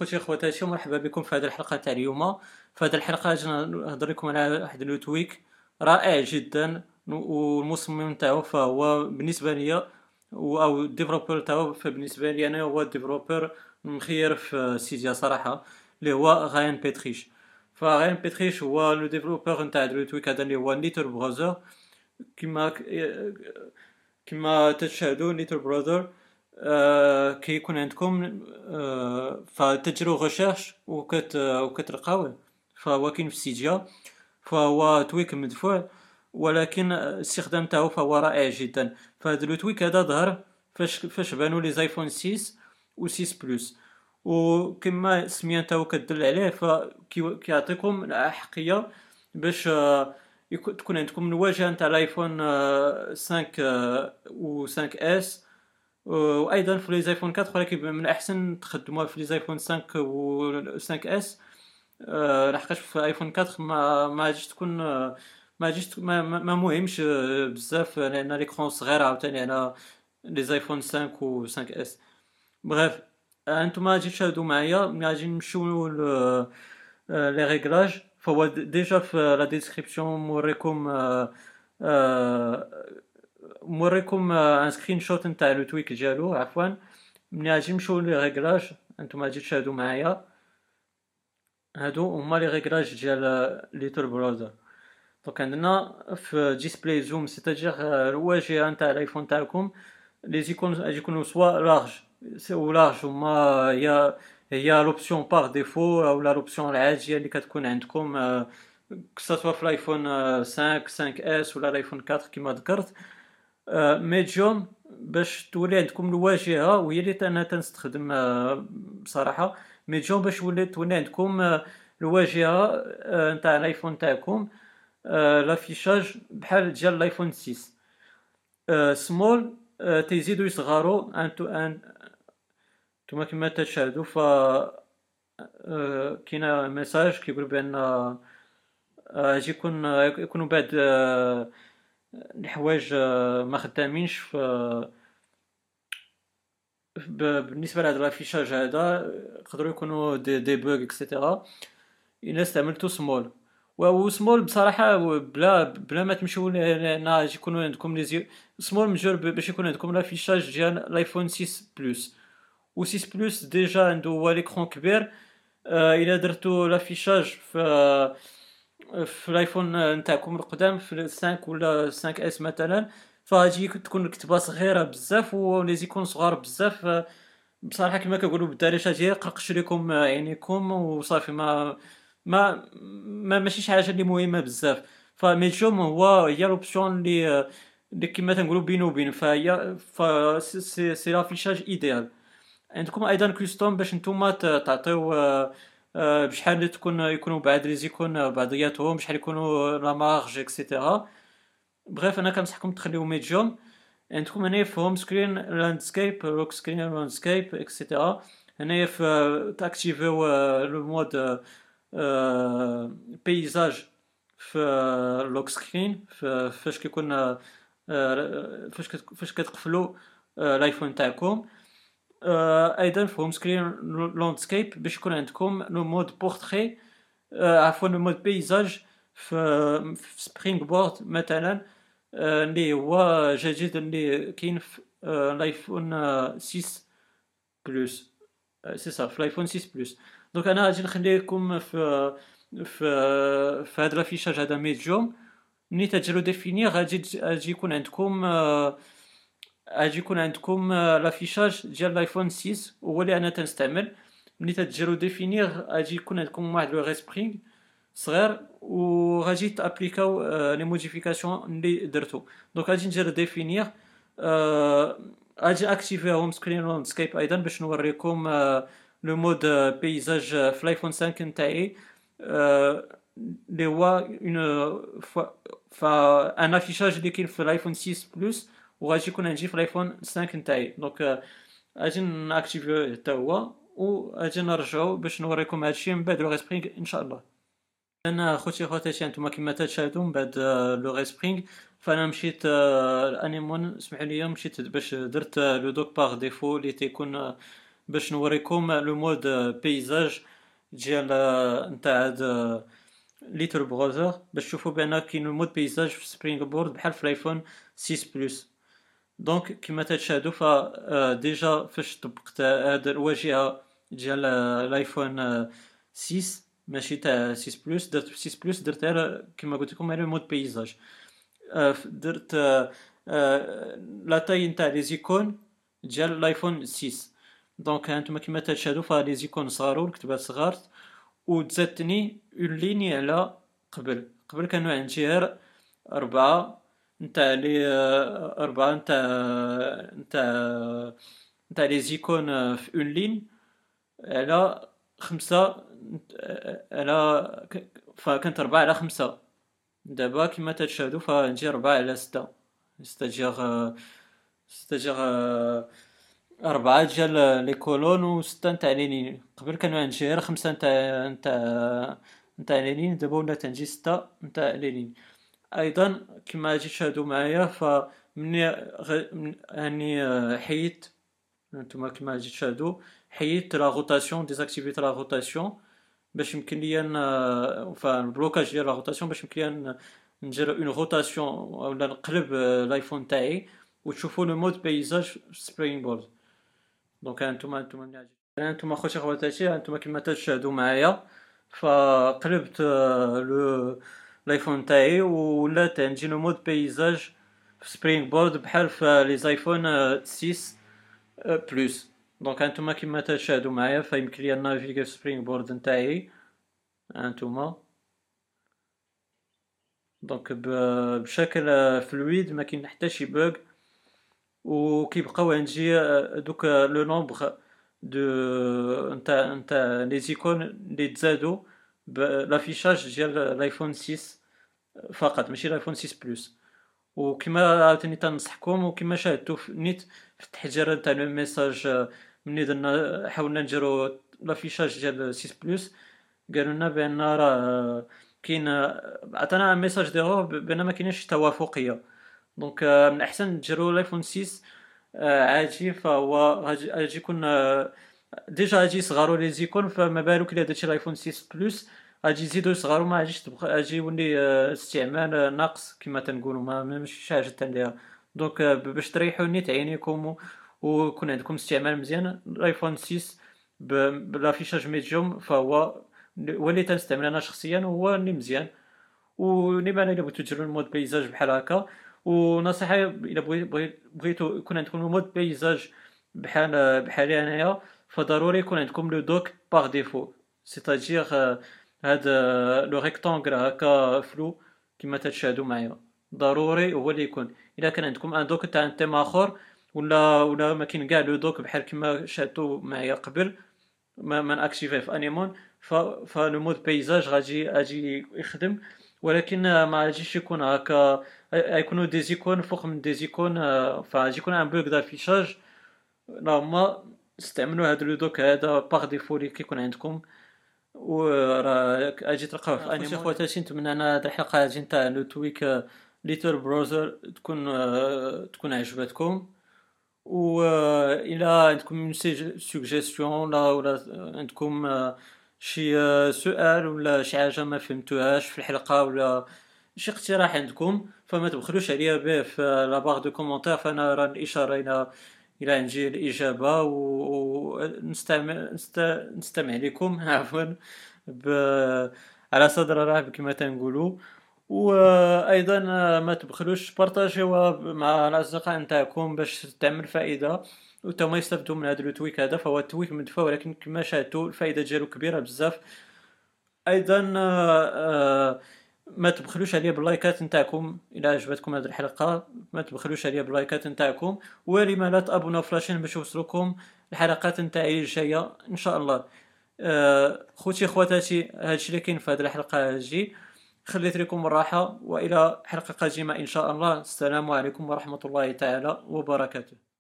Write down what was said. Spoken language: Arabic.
خوتي خواتاتي، مرحبا بكم في هذه الحلقه تاع اليوم. في هذه الحلقه اجي نهضر لكم على واحد لو تويك رائع جدا، والمصمم تاعو فهو بالنسبه لي او الديفلوبر تاعو، فبالنسبه لي انا هو الديفلوبر مخير في سيديا صراحه، اللي هو غايان بيتريش. فغايان بيتريش هو لو ديفلوبر نتاع لو تويك هذا اللي هو نيتر براوزر. كما كما تشاهدوا ليتل براذر، كيكون عندكم فتديروا غوشيرش وكتلقاوه. فهو كاين في سيديا، فهو تويك مدفوع، ولكن الاستخدام تاعو فهو رائع جدا. فهذا لو تويك هذا ظهر فاش بانوا لي زايفون 6 و 6 بلس، وكما السميه تاعو كتدل عليه فكيعطيكم الاحقيه باش تكون عندكم الواجهه نتاع الايفون 5 و 5 اس، وايضا في لي زايفون 4، ولكن من الاحسن تخدموها في لي زايفون 5 و 5 اس. لحقاش في ايفون 4 ما غاديش تكون ما غاديش ما مهمش بزاف، لان ليكرون صغير عاوتاني على لي زايفون 5 و 5 اس. بغيف انتم غادي تشاهدوا معايا ملي غادي نمشيو لي ريغلاج. فهو ديجا في لا ديسكريبسيون موريكم ان سكرين شوت نتاع لو تويك ديالو. عفوا، ملي غادي نمشيو لي ريغلاج انتم غادي تشاهدوا معايا، هادو هما لي ريغلاج ديال ليتل براوزر. دونك عندنا في ديسبلاي زوم، سيتاجير الواجهه نتاع الايفون تاعكم، لي زيكون غادي يكونوا سوا لارج هما هي لوبسيون بار ديفو، او لوبسيون العاديه اللي كتكون عندكم كسوا في الايفون 5 اس ولا الايفون 4 كما ذكرت. ميديوم باش تولي عندكم الواجهه، وهي اللي انا تنستخدم بصراحه. ميديوم باش تولي عندكم الواجهه نتاع الايفون تاعكم، لافيشاج بحال ديال الايفون 6. سمول تيزيدوا يصغروا نتوما كما تشاهدوا. ف كاين ميساج كيقول بان اجي يكونوا بعد الحوايج ما خدامينش بالنسبه لهذا الافيشاج هذا، يقدروا يكونوا دي بوغ اكسيتيرا الا استعملتو سمول. سمول بصراحه بلا ما تمشيو لهنا يكونوا عندكم لي سمول مجرب باش يكون عندكم الافيشاج ديال الايفون 6 بلس. و 6 بلس ديجا عنده هو ليكرون كبير. الا درتو لافيشاج في الايفون نتاعكم القدام، في 5 ولا 5 اس مثلا، فغادي تكون الكتابه صغيره بزاف ولي زيكون صغار بزاف. بصراحه كما كنقولوا بالدارجه ديال قرقش لكم عينيكم وصافي. ماشي شي حاجه اللي مهمه بزاف. فميديوم هي لوبسيون اللي كما تنقولوا بينو وبين، فهي سي لافيشاج ايديال. عندكم ايضا كوستوم باش نتوما تعطيو بشحال يكونوا بعاد لي زيكون بعضياتهم، بشحال يكونوا لا مارج اكسيتيرا. بغيف انا كنصحكم تخليو ميديوم. عندكم هنا في هوم سكرين لاندسكيب، لوك سكرين لاندسكيب اكسيتيرا. هنا في تاكتيفيو لو مود بيزاج في لوك سكرين، فاش كيكون فاش كتقفلوا الايفون تاعكم. ايضا في هوم سكرين لاندسكيب باش يكون عندكم لو مود بورتري، عفوا لو مود بيزاج في سبرينغ بورد مثلا، اللي هو جديد اللي كاين في الايفون 6 بلس. سي صافي في الايفون 6 بلس. دونك انا غادي نخلي لكم في هذا الافيشاج هذا ميديوم. ملي تديروا ديفينير غادي يكون عندكم لافيشاج ديال الايفون 6، هو اللي انا تنستعمل. ملي تديروا ديفينير غادي يكون عندكم واحد لو ريسبرينغ صغير، وغادي تابليكاو لي موديفيكاسيون اللي درتو. دونك غادي ندير ديفينير. غادي اكتيفي هوم سكرين لاندسكيب ايضا باش نوريكم لو مود بيزاج في الايفون 5 نتاعي، اللي هو ان افيشاج اللي كاين في الايفون 6 بلس، وغادي يكون عندي في الايفون 5 نتاعي. دونك غادي ناكتيفيو حتى هو، وغادي نرجعو باش نوريكم هادشي من بعد لو ريسبرينغ ان شاء الله. انا خوتاتي انتم كما تشاهدوا من بعد لو ريسبرينغ، فانا مشيت الانيمون، اسمحوا لي، مشيت باش درت لو دوك باغ ديفو اللي تيكون باش نوريكم لو مود بيزاج ديال نتاع هاد ليتر براوزر، باش تشوفوا بان كاين المود بيزاج في سبرينغ بورد بحال في الايفون 6 بلس. دونك كما تشاهدوا ديجا فاش طبقت هاد الواجهه ديال الايفون 6 ماشي تاع 6 بلس، درت في 6 بلس درت غير كما قلت لكم غير مود بيزاج. درت لا تاي نتاع لي زيكون ديال الايفون 6. دونك هانتوما كما تشاهدوا لي زيكون صغاروا الكتبات صغارت، وتزادتني اون ليني على قبل كانوا عندي غير ربعة نتاع لي ربعة نتاع لي زيكون في اون لين على خمسة على فكانت ربعة على خمسة. دابا كما تشاهدوا فنجي ربعة على ستة، ستاجيغ ربعة ديال لي كولون وستة نتاع لي لين. قبل كانوا عندي غير خمسة نتاع لي لين، دابا ولات عندي ستة نتاع لي لين. ايضا كما غادي تشاهدوا معايا فمني هاني حيدت، نتوما كما غادي تشاهدوا حيدت لا روتاسيون، ديزاكتيفيت لا روتاسيون باش يمكن ليا البلوكاج ديال لا روتاسيون باش يمكن ليا ندير اون روتاسيون ولا نقلب الايفون تاعي وتشوفوا لو مود بيزاج سبرينغ بورد. دونك هانتوما ملي هانتوما خوتي خواتاتي، هانتوما كما تشاهدوا معايا فقلبت لو الايفون تاعي ولات عندي لو مود بيزاج في سبرينغ بورد بحال في لي ايفون 6 بلس. دونك هانتوما كما تشاهدوا معايا فيمكن ليا نافيغي في سبرينغ بورد نتاعي هانتوما. دونك بشكل فلويد ما كاين حتى شي بوغ، وكيبقاو عندي دوك لو نومبر دو نتاع لي زيكون اللي تزادوا بلافيشاج ديال الايفون 6 فقط ماشي الايفون 6 بلس. وكما عاوتاني تنصحكم وكما شاهدتوا في نيت في التحجير تاع لو ميساج ملي درنا حاولنا نديرو لافيشاج ديال 6 بلس، قالوا لنا بان راه كاين عطانا ميساج ديرو بان ما كاينش توافقيه. دونك من الاحسن ديروا الايفون 6 عادي، فهو غادي يكون ديجا غادي يصغروا لي زيكون، فما بالك الا درتي الايفون 6 بلس غادي يزيدوا يصغروا، ما غاديش تبقى غادي يولي استعمال ناقص كما تنقولوا ما ماشي شي حاجه تنديرها. دونك باش تريحوا نيت عينيكم ويكون عندكم استعمال مزيان الايفون 6 بلافيشاج ميديوم فهو هو اللي تنستعمل انا شخصيا وهو اللي مزيان. ونيما الا بغيتو ديروا المود بيزاج بحال هكا، ونصيحه الا بغيتو يكون عندكم المود بيزاج بحالي انايا فضروري يكون عندكم لو دوك باغ ديفو، سيتادير هاد لو ريكتانغل هكا فلو كما تشاهدوا معايا ضروري هو اللي يكون. الا كان عندكم ان دوك تاع تيم اخر ولا ما كاين كاع لو دوك بحال كما شاهدتوا معايا قبل ما ناكتيفيه في انيمون فلو مود بيزاج غادي يخدم، ولكن ما غاديش يكون هكا، غيكونوا دي زيكون فوق من دي زيكون، فغادي يكون ان بوغ دافيشاج. نورمال استعملوا هاد لو دوك هذا باغ ديفو اللي كيكون عندكم وراه اجي تلقاوه في انيمون. خواتاتي نتمنى ان هاد الحلقه هادي نتاع لو تويك ليتر براوزر تكون عجبتكم. و الى عندكم شي سوجيستيون ولا عندكم شي سؤال ولا شي حاجه ما فهمتوهاش في الحلقه ولا شي اقتراح عندكم فما تبخلوش عليا به في لا باغ دو كومونتير، فانا راه الاشاره الى عندي الاجابه نستمع لكم عفوا على صدر رحب كما تنقولوا. وايضا ما تبخلوش بارطاجيوها مع الاصدقاء نتاعكم باش تعمل فائده وتما يستافدوا من هذا التويك هذا. فهو التويك مدفع ولكن كما شاهدتوا الفائده ديالو كبيره بزاف. ايضا ما تبخلوش عليا باللايكات نتاعكم الى عجبتكم هذه الحلقه، ما تبخلوش عليا باللايكات نتاعكم، ولما لا تابوناو في لاشين باش يوصلكم الحلقات نتاعي الجايه ان شاء الله. خوتي خواتاتي هادشي اللي كاين في هذه الحلقه هذه، خليت لكم الراحه والى حلقه قادمه ان شاء الله. السلام عليكم ورحمه الله تعالى وبركاته.